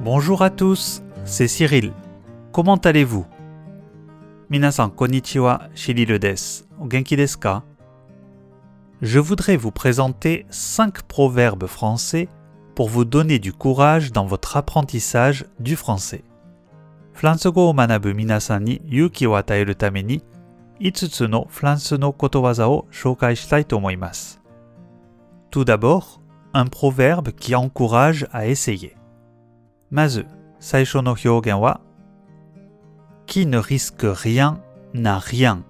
Bonjour à tous, c'est Cyril. Comment allez-vous? 皆さんこんにちは、シリルです。お元気ですか? Je voudrais vous présenter 5 proverbes français pour vous donner du courage dans votre apprentissage du français. フランス語を学ぶ皆さんに勇気を与えるために、5つのフランスのことわざを紹介したいと思います。Tout d'abord, un proverbe qui encourage à essayer. まず、最初の表現は、Qui ne risque rien n'a rien.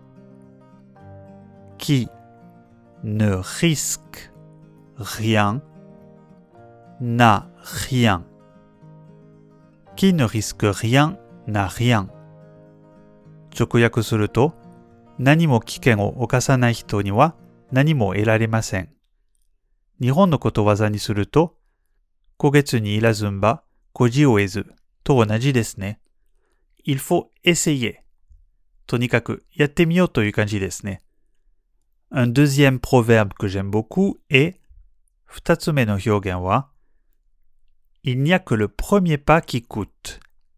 Qui ne risque rien n'a rien. Qui ne risque rien n'a rien. 直訳すると、何も危険を冒さない人には何も得られません。日本のことわざにすると、虎月にいらずんば、孤事を得ずと同じですね。Il faut essayer. とにかくやってみようという感じですね。Un deuxième proverbe que j'aime beaucoup est 二つ目の表現は Il n'y a que le premier pas qui coûte.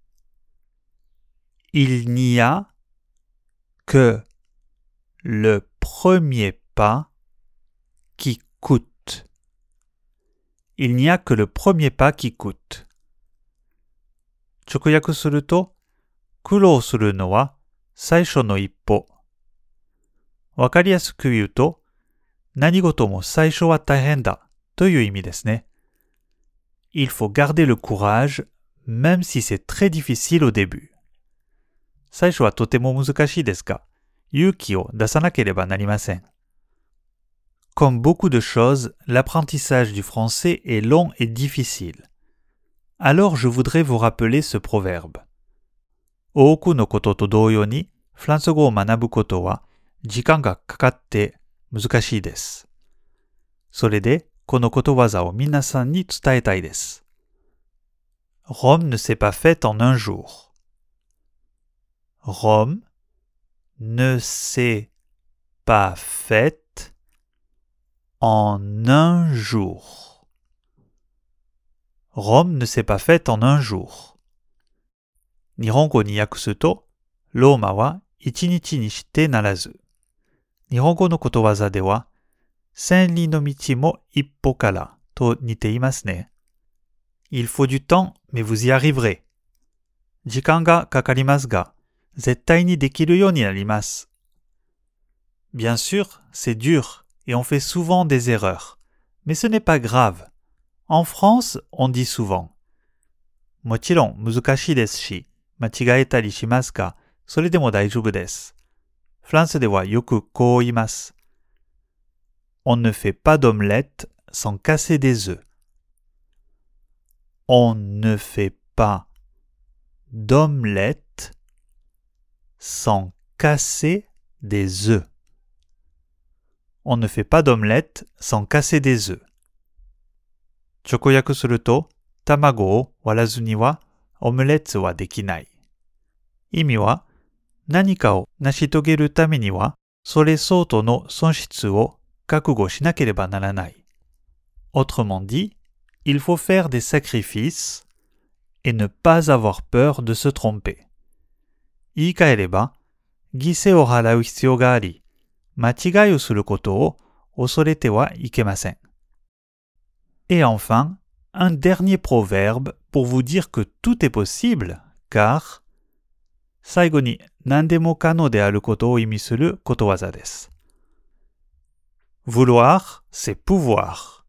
Il n'y a que le premier pas qui coûte. Il n'y a que le premier pas qui coûte. 直訳すると、苦労するのは最初の一歩。わかりやすく言うと、何事も最初は大変だという意味ですね。Il faut garder le courage, même si c'est très difficile au début. 最初はとても難しいですが、勇気を出さなければなりません。Comme beaucoup de choses, l'apprentissage du français est long et difficile. Alors je voudrais vous rappeler ce proverbe. 多くのことと同様に、フランス語を学ぶことは時間がかかって難しいです。それで、このことわざを皆さんに伝えたいです。Rome ne s'est pas faite en un jour. Rome ne s'est pas faite en un jour. Rome ne s'est pas faite en un jour. 日本語に訳すと、ローマは一日にしてならず。日本語のことわざでは、千里の道も一歩からと似ていますね。Il faut du temps, mais vous y arriverez. 時間がかかりますが、絶対にできるようになります。Bien sûr, c'est dur et on fait souvent des erreurs. Mais ce n'est pas grave. En France, on dit souvent. もちろん難しいですし、間違えたりしますが、それでも大丈夫です。フランスではよくこう言います。On ne fait pas d'omelette sans casser des œufs. On ne fait pas d'omelette sans casser des œufs. On ne fait pas d'omelette sans casser des œufs. 直訳すると、卵を割らずにはオムレツはできない。意味は、何かを成し遂げるためには、それ相当の損失を覚悟しなければならない。Autrement dit, il faut faire des sacrifices et ne pas avoir peur de se tromper. 言い換えれば、犠牲を払う必要があり、間違いをすることを恐れてはいけません。Et enfin, un dernier proverbe pour vous dire que tout est possible, car 最後に何でも可能であることを意味することわざです。Vouloir, c'est pouvoir.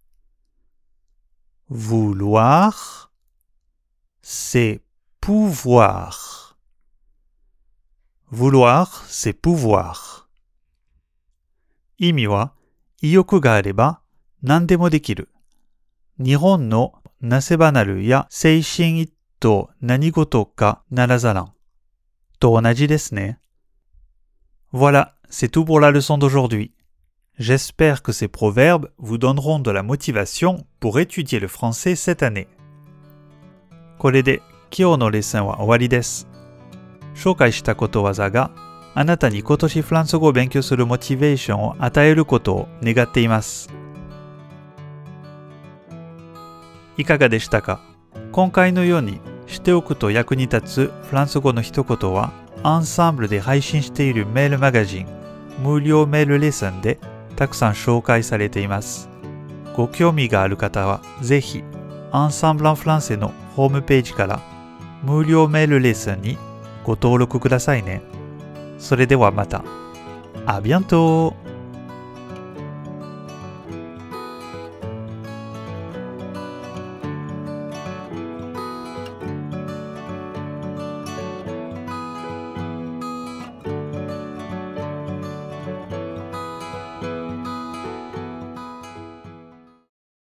Vouloir, c'est pouvoir. Vouloir, c'est pouvoir. 意味は、意欲があれば何でもできる。日本のなせばなるや精神一途何事かならざらん。と同じですね。Voilà, c'est tout pour la leçon d'aujourd'hui. J'espère que ces proverbes vous donneront de la motivation pour étudier le français cette année. これで今日のレッスンは終わりです。紹介したことわざがあなたに今年フランス語を勉強するモチベーションを与えることを願っています。いかがでしたか？今回のようにしておくと役に立つフランス語の一言は、アンサンブルで配信しているメールマガジン、無料メールレッスンでたくさん紹介されています。ご興味がある方は、ぜひ、アンサンブル・ン・フランセのホームページから無料メールレッスンにご登録くださいね。それではまた。À bientôt!